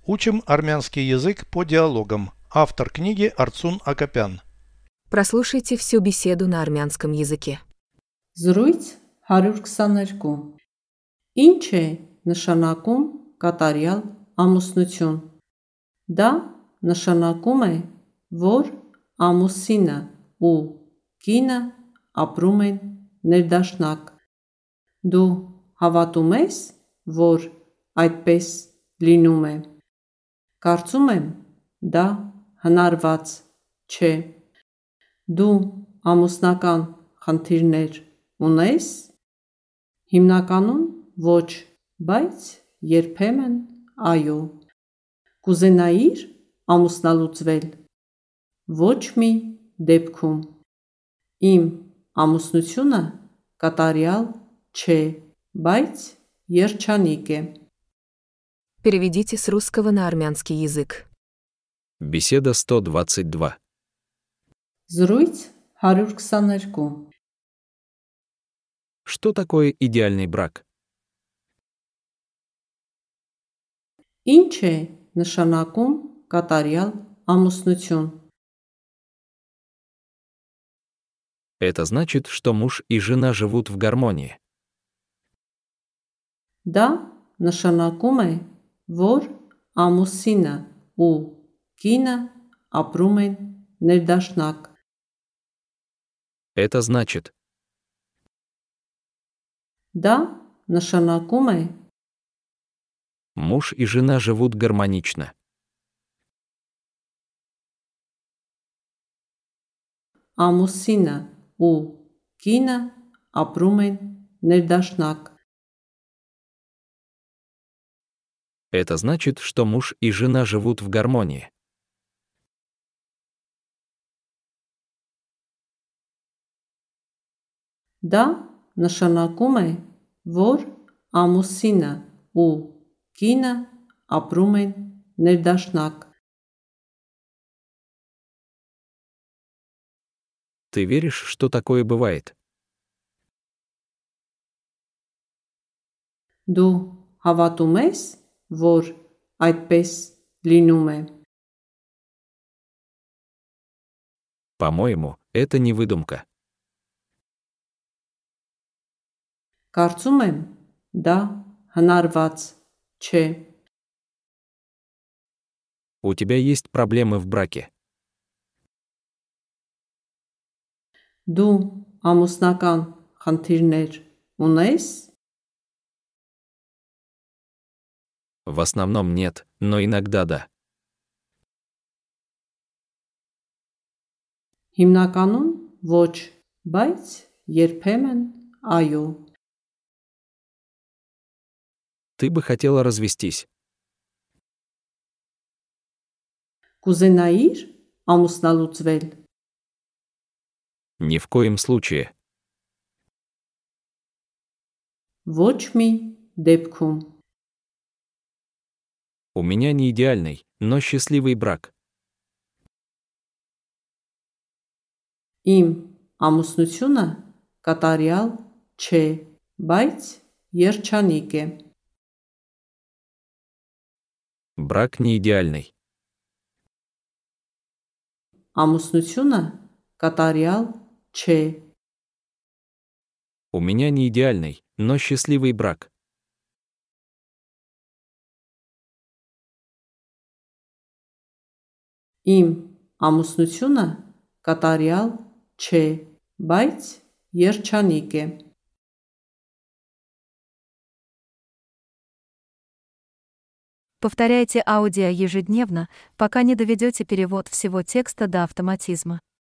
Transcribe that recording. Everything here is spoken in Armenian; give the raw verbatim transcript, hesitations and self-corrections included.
Учим армянский язык по диалогам. Автор книги Арцун Акопян. Прослушайте всю беседу на армянском языке. Զրույց հարյուր քսաներկու Ինչ է նշանակում կատարյալ ամուսնություն։ Դա նշանակում է, որ ամուսինը ու կինը ապրում են ներդաշնակ։ Դու հավատում ես, որ այդպես լինում է։ Կարծում եմ, դա հնարված չէ։ Դու ամուսնական խնդիրներ ունես։ Հիմնականում ոչ, բայց երբեմն այո։ Կուզենայիր ամուսնալուծվել։ Ոչ մի դեպքում։ Իմ ամուսնությունը կատարյալ չէ, բայց երջանիկ է։ Переведите с русского на армянский язык. Беседа сто двадцать два. Զրույց հարյուր քսաներկու Что такое идеальный брак? Ինչ է նշանակում կատարյալ ամուսնություն։ Это значит, что муж и жена живут в гармонии. Դա նշանակում է, որ ամուսինը ու կինը ապրում են ներդաշնակ։ Это значит, Դա նշանակում է, муж и жена живут гармонично. ամուսինը ու կինը ապրում են ներդաշնակ։ Это значит, что муж и жена живут в гармонии. Դա նշանակում է, որ ամուսինը ու կինը ապրում են ներդաշնակ։ Ты веришь, что такое бывает? Դու հավատում ես, որ այդպես լինում է։ По-моему, это не выдумка. Կարծում եմ, դա հնարված չէ։ У тебя есть проблемы в браке. Դու ամուսնական խնդիրներ ունես։ В основном нет, но иногда да. Հիմնականում ոչ, բայց երբեմն այո։ Ты бы хотела развестись. Կուզենայիր ամուսնալուծվել։ Ни в коем случае. Ոչ մի դեպքում։ У меня не идеальный, но счастливый брак. Իմ ամուսնությունը կատարյալ չէ, բայց երջանիկ է։ Брак не идеальный. Ամուսնությունը կատարյալ չէ։ У меня не идеальный, но счастливый брак. Իմ ամուսնությունը կատարյալ չէ, բայց երջանիկ է։ Повторяйте аудио ежедневно, пока не доведете перевод всего текста до автоматизма.